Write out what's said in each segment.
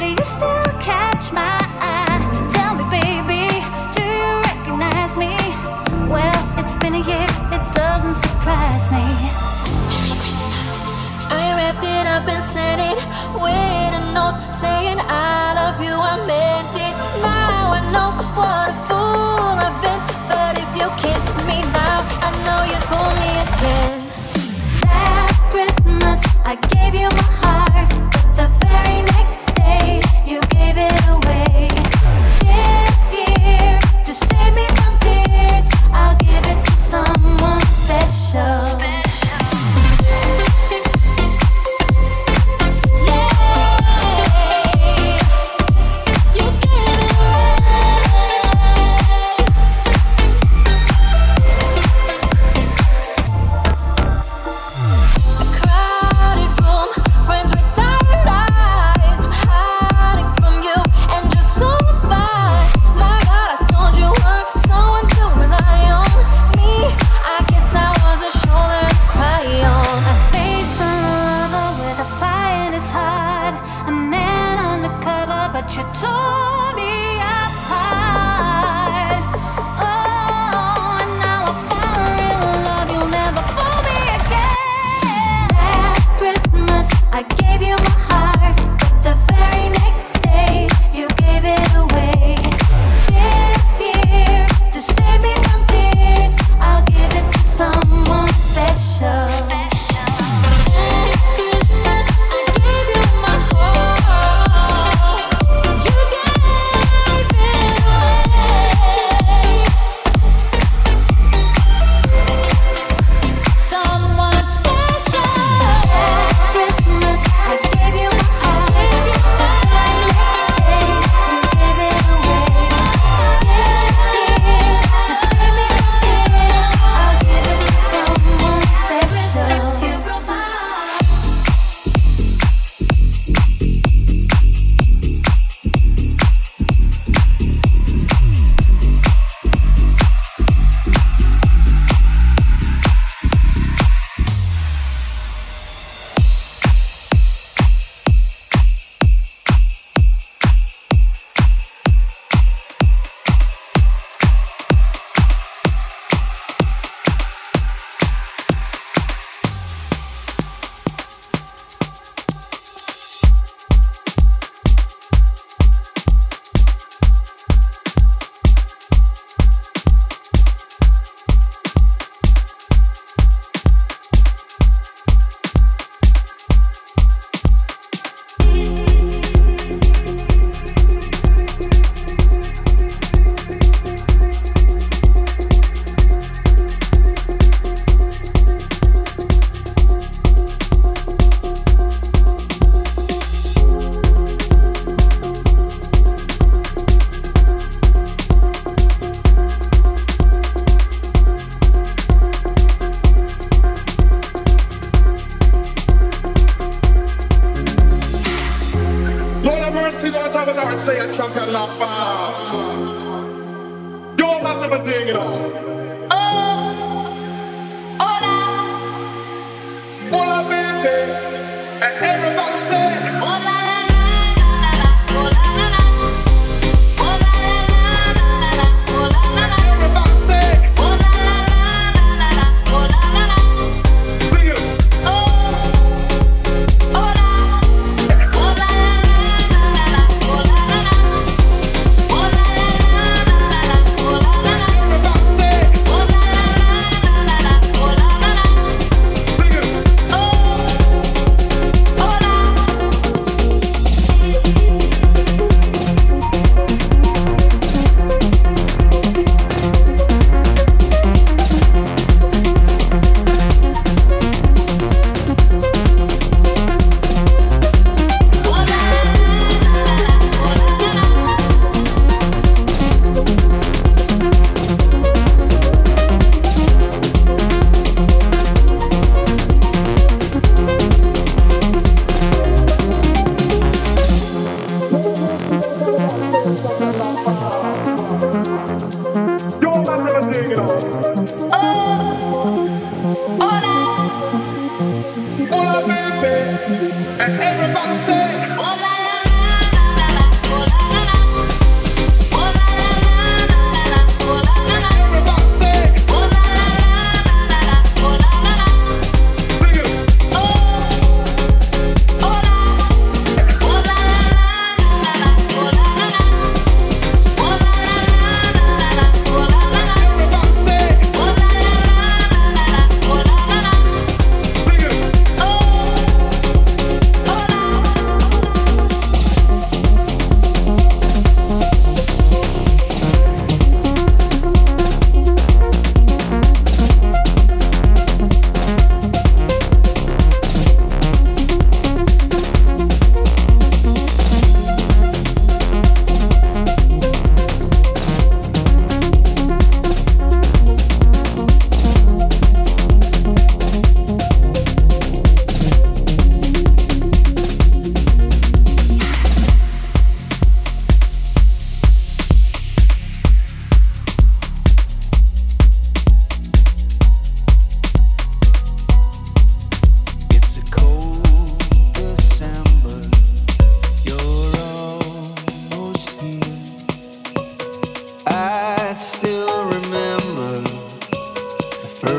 do you still catch my eye? Tell me, baby, do you recognize me? Well, it's been a year, it doesn't surprise me. Merry Christmas. I wrapped it up and sent it with a note saying I love you, I meant it. Now I know what a fool I've been, but if you kiss me now, I know you'd fool me again. Last Christmas, I gave you my heart, but the very next day, you gave it away. This year, to save me from tears, I'll give it to someone special. You tore me apart. Oh, and now I found real love. You'll never fool me again. Last Christmas, I gave you my heart, but the very next day, you gave it away. This year, to save me from tears, I'll give it to someone special. Say a champion love you're massive thing, you know. Hola, baby, and everybody say, hola, la, la, la, la, hola, la, la, hola, la, la, la, la, hola, la, la. Everybody say, hola, la, la, la, la, hola, la, la. Sing it. Hola, hola, la, la, la, la, hola, la, la. Hola, la, la, la, la, hola, la, la. Everybody say, hola, la, la, la, la, hola, la, la. Sing it. Hola, baby, and everybody say, hola, la, la, la, la.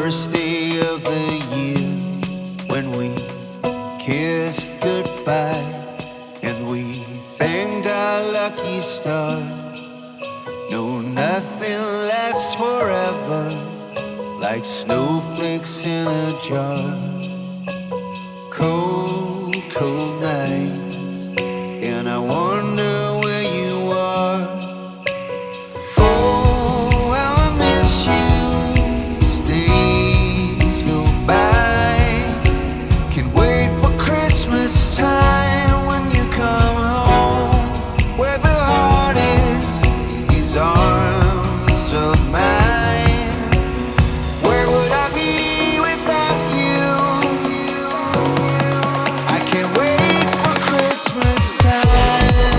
first day of the year when we kissed goodbye and we thanked our lucky star. No, nothing lasts forever, like snowflakes in a jar. Cold, cold nights, and I wonder where you are. Oh, how I miss you as days go by. Can't wait for Christmas time when you come home, where the heart is in these arms of mine. Where would I be without you? I can't wait for Christmas time.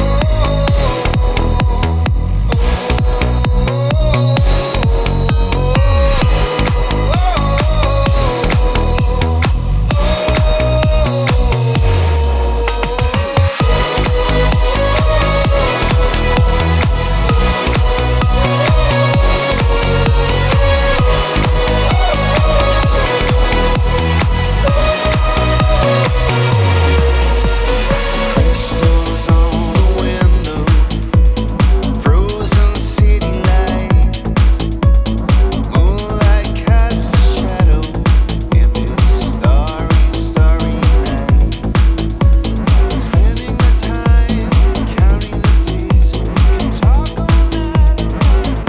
Crystals on the window, frozen city lights, moonlight casts a shadow in this starry, starry night. Spending the time counting the days, so we can talk all night around the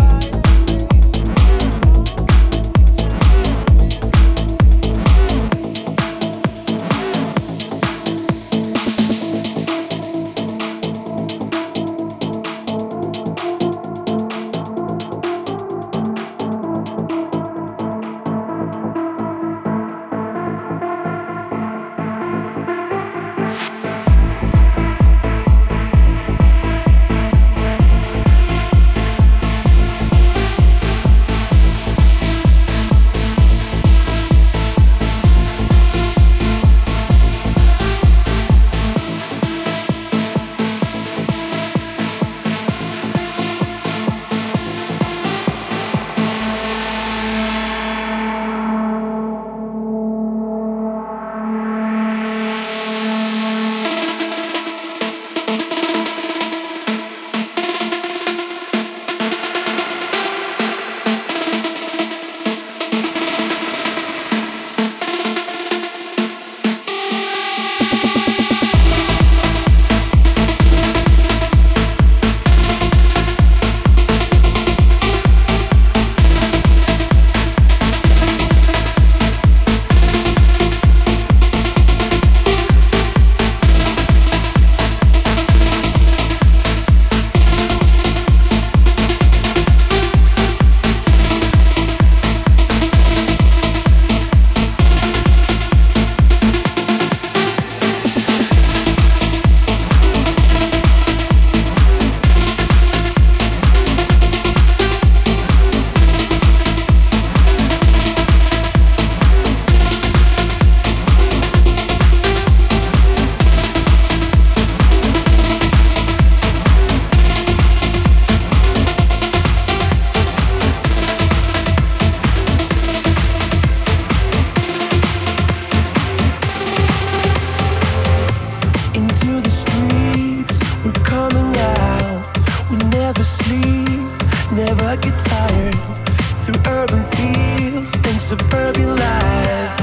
into the streets, we're coming out. We never sleep, never get tired. Through urban fields and suburban life.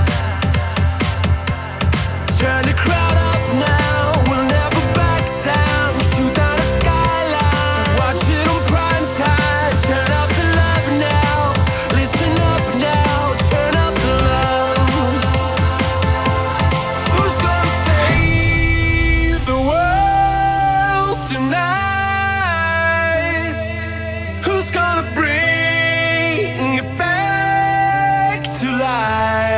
Turn the crowd up now, we'll never back down. Shoot down a skyline, watch it on prime time. Turn up the love now, listen up now, turn up the love. Who's gonna save the world tonight? Who's gonna bring it back to life?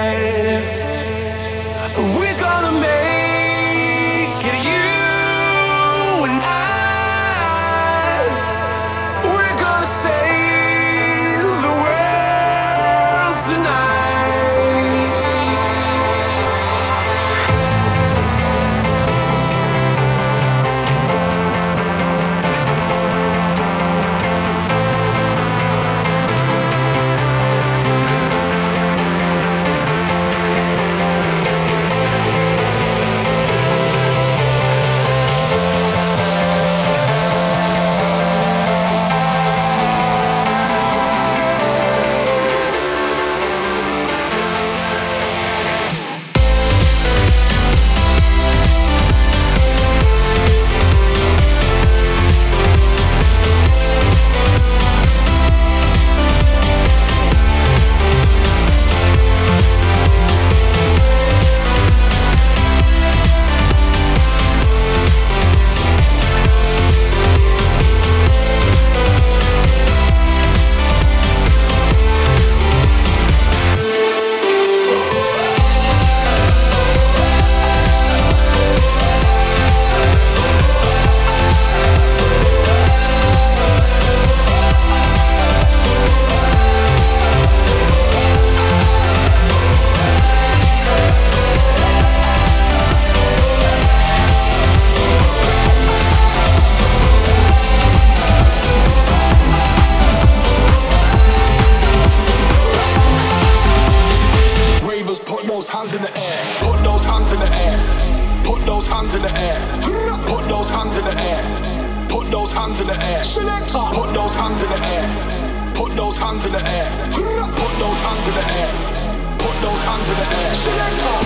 those hands in the air. Put those hands in the air. Put those hands in the air. Put those hands in the air. Put those hands in the air. Selector. Put those hands in the air. Put those hands in the air. Put those hands in the air. Put those hands in the air. Selector.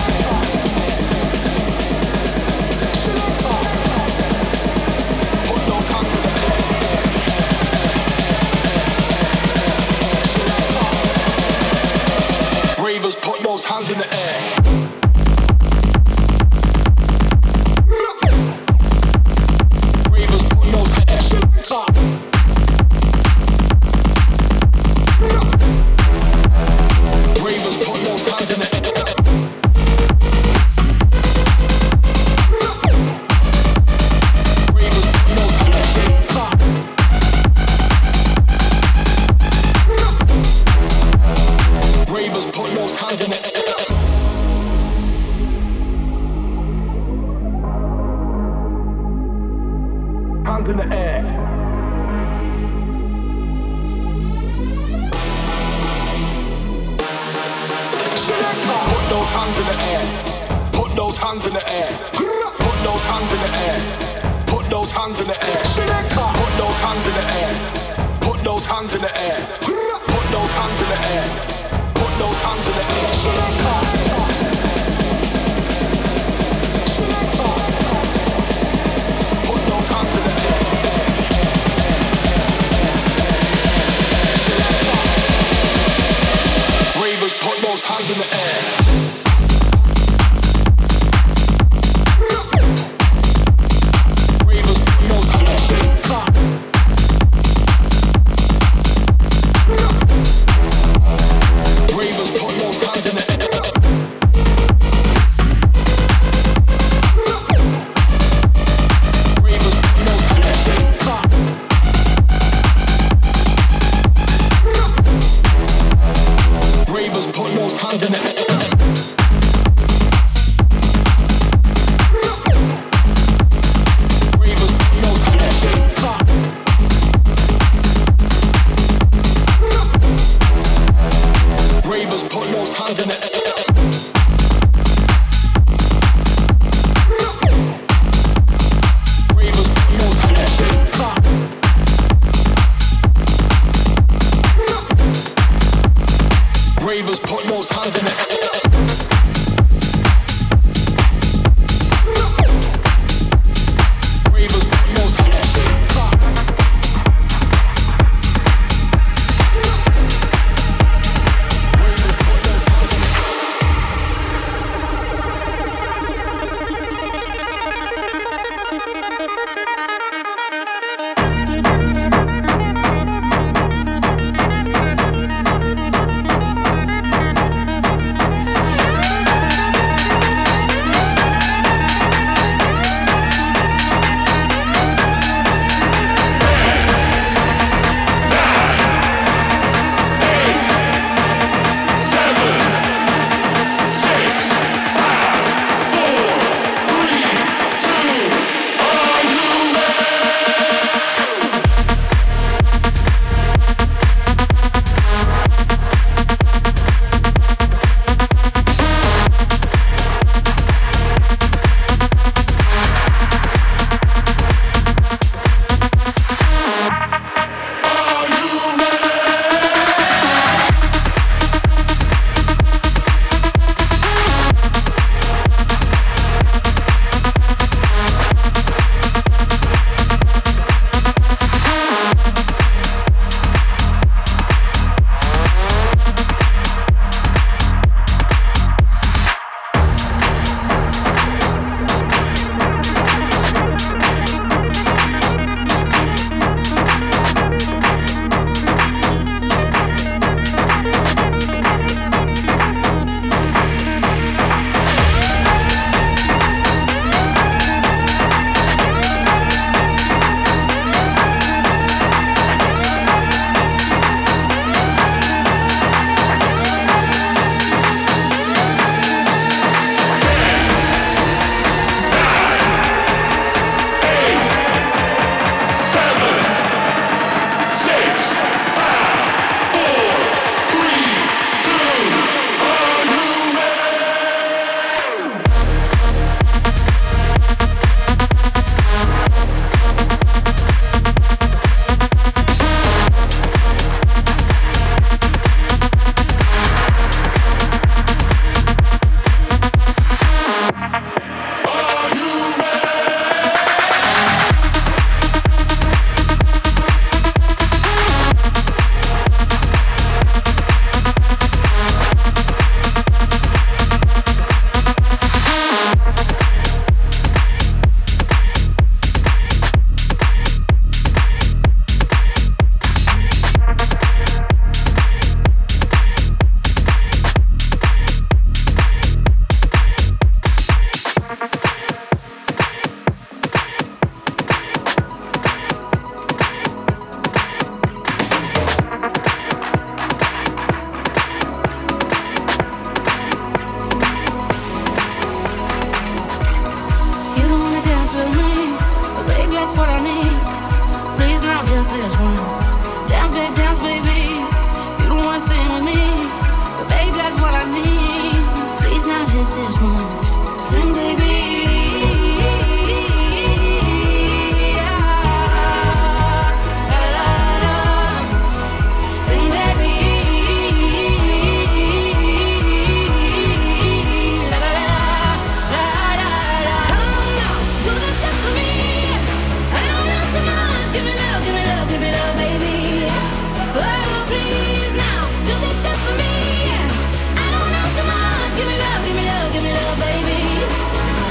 Selector. Put those hands in the air. Selector. Bravers, put those hands in the air. Bravers, put those hands in the air. Bravers, put those hands in the air. Bravers, put those hands in the air. Bravers, put those hands in the air. Hands in the air. Put those hands in the air. Put those hands in the air. Put those hands in the air. Put those hands in the air. Put those hands in the air. Put those hands in the air. Put those hands in the air. Put those hands in the air. Put those hands in the air. Bravers, put those hands in the air. Bravers, put those hands in the air. Bravers, put those hands in the air. Bravers, put those hands in the air. Bravers, put those hands in the air. Bravers, put those hands in the air. Bravers, put those hands in the air. Bravers, put those hands in the air. Bravers, put those hands in the air. Bravers, put those hands in the air. what I need. Please now just this once. Dance baby. You don't wanna sing with me, but baby that's what I need. Please now just this once. Sing baby. Give me love, baby.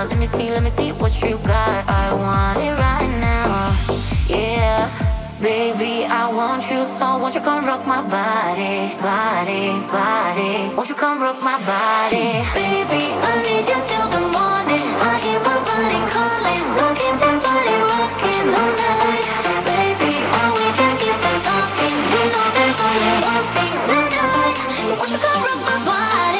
let me see what you got. I want it right now, yeah. Baby, I want you so won't you come rock my body, body, body. Won't you come rock my body? Baby, I need you till the morning. I hear my body calling, so keep that body rocking all night. Baby, all we can is keep it talking. You know there's only one thing tonight, so won't you come rock my body?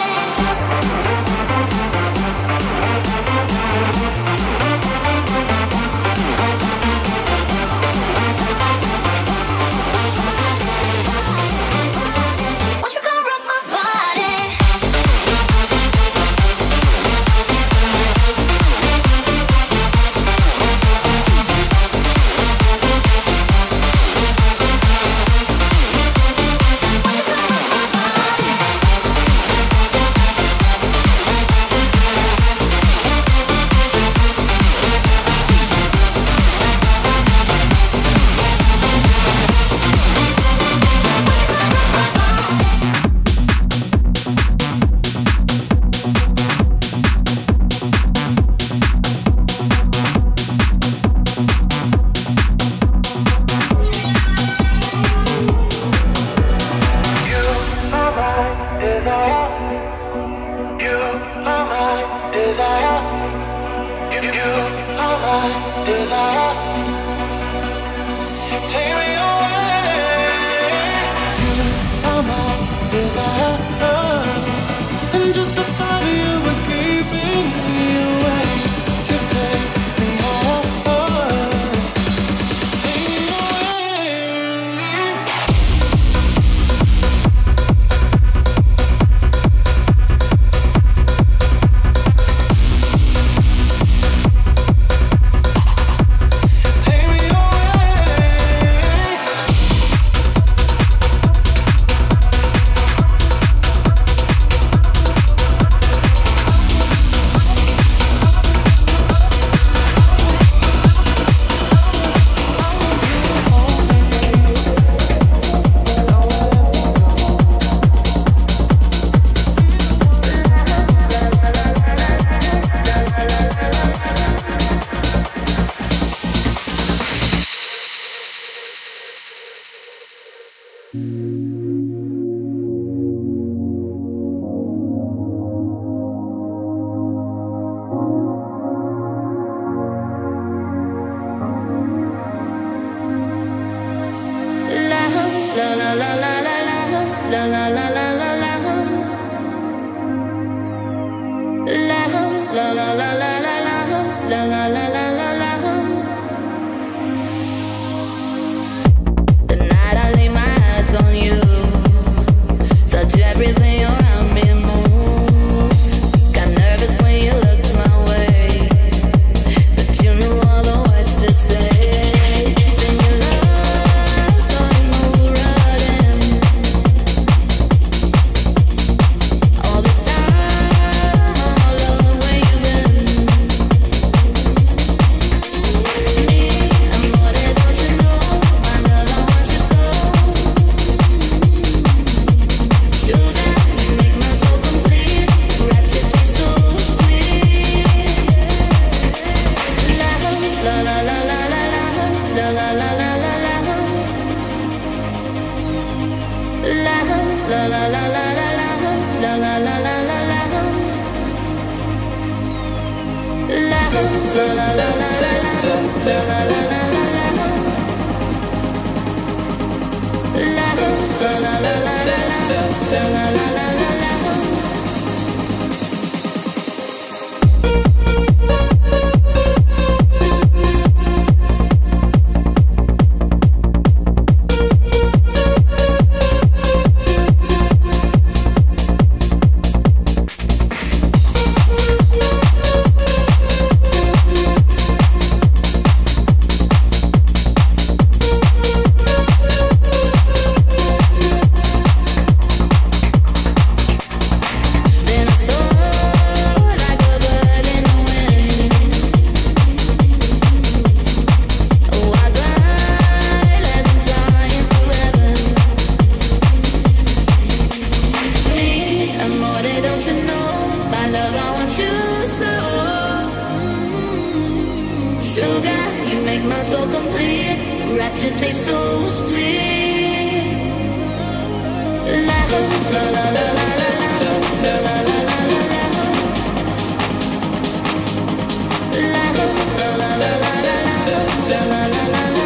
Sugar, you make my soul complete. Rapture tastes so sweet. La la la la la la la la la la la la la. La la la la la la la la la la la la.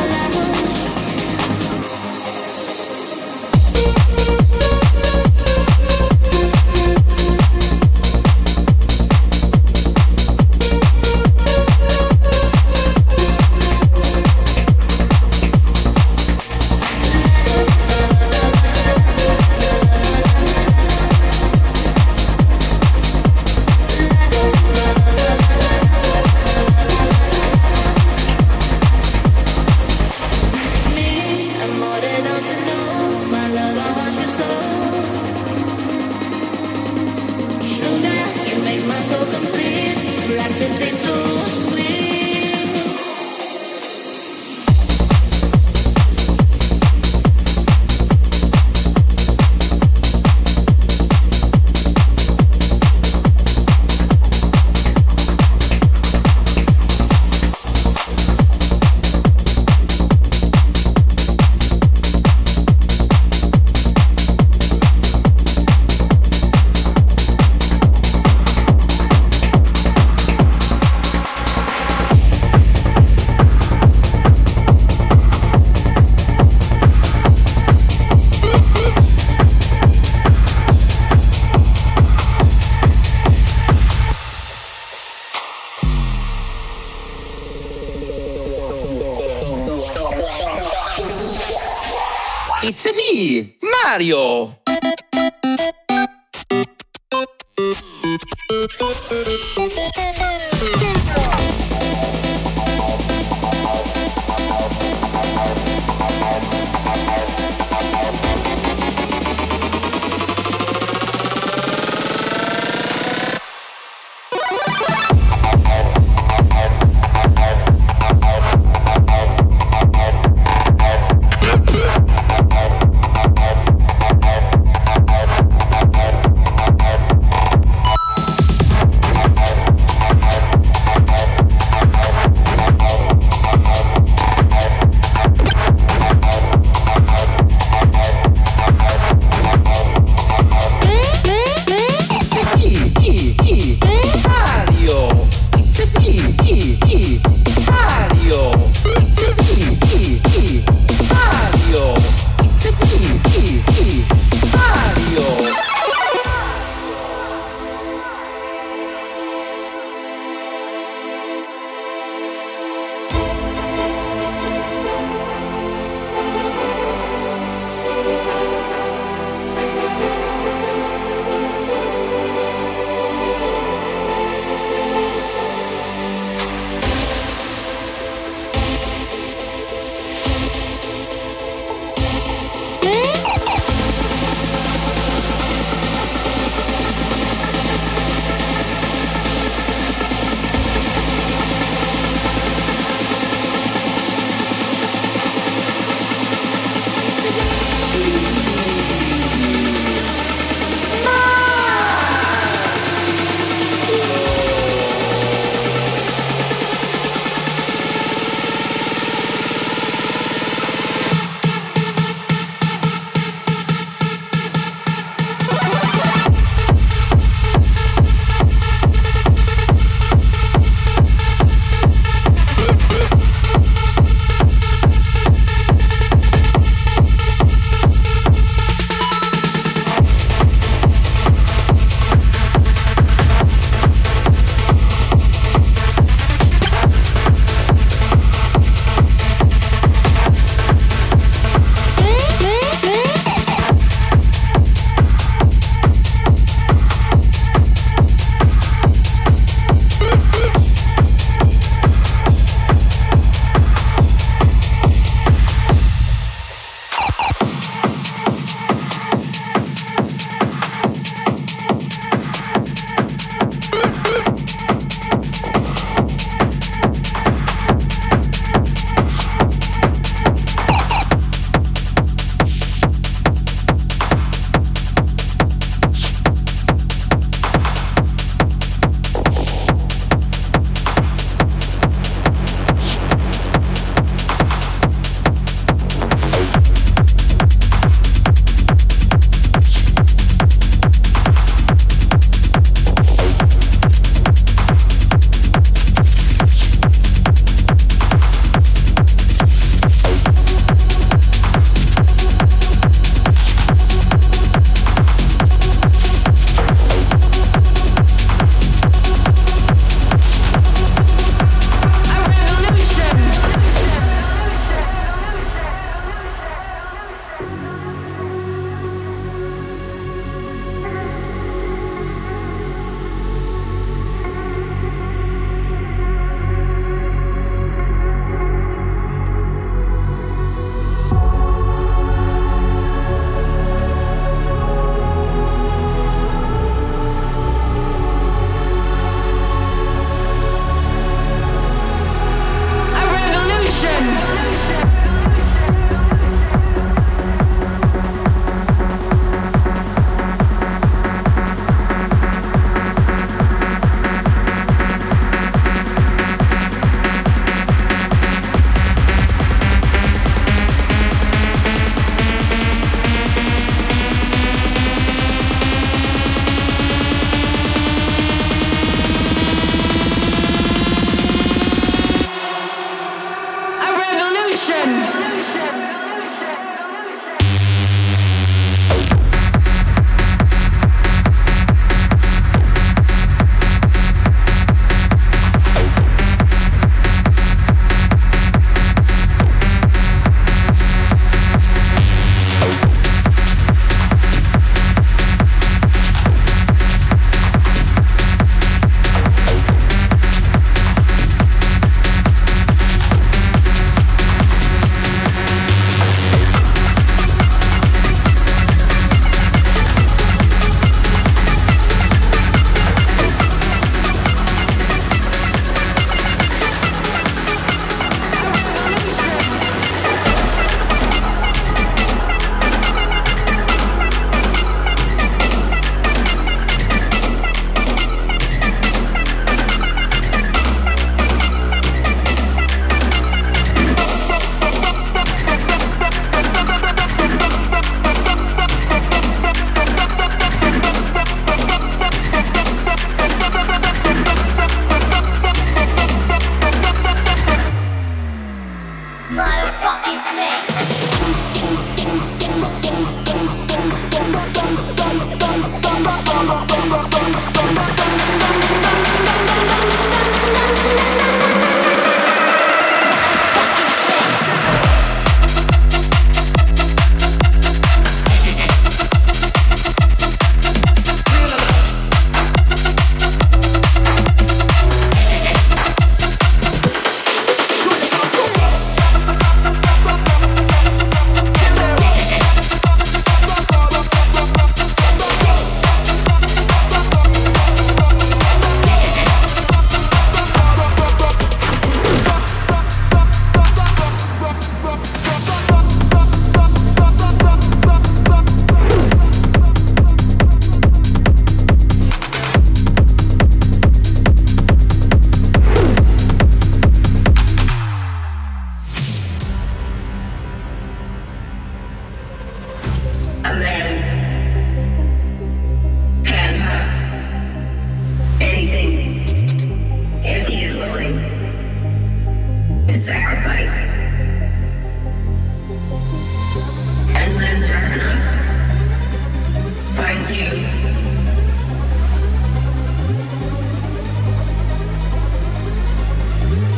It's me, Mario!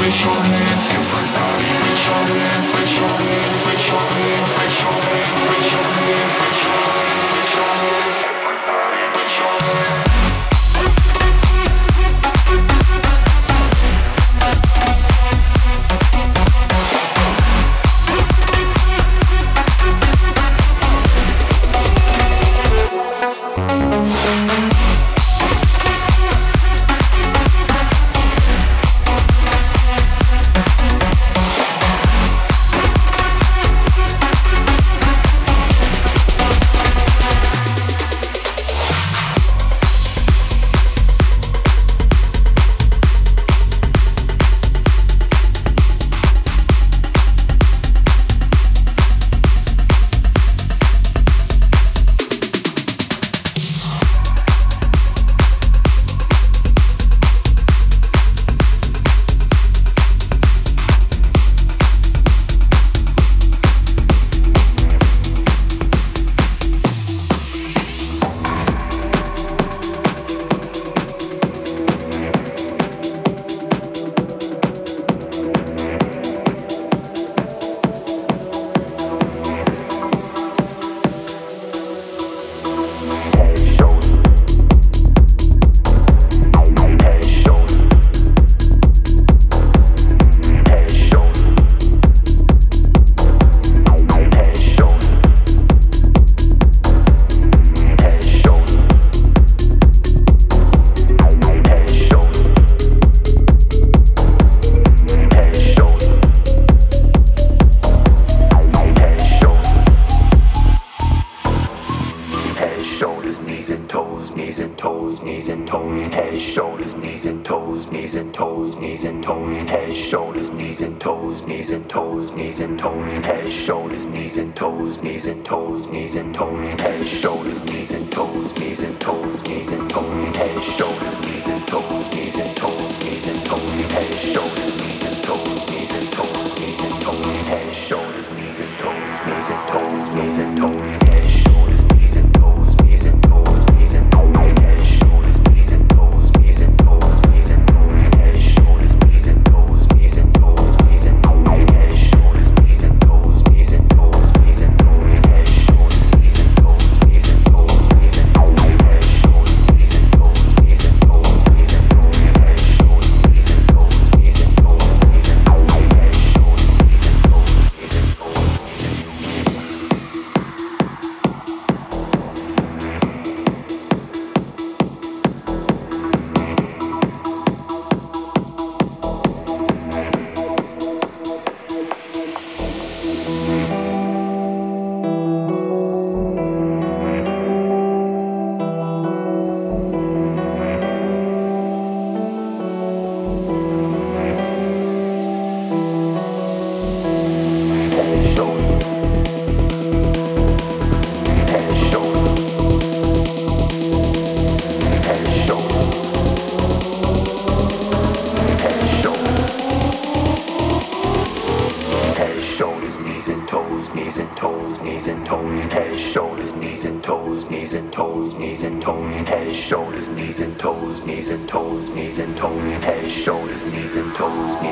knees and toes, knees and toes, knees and toes, head, shoulders, knees and toes,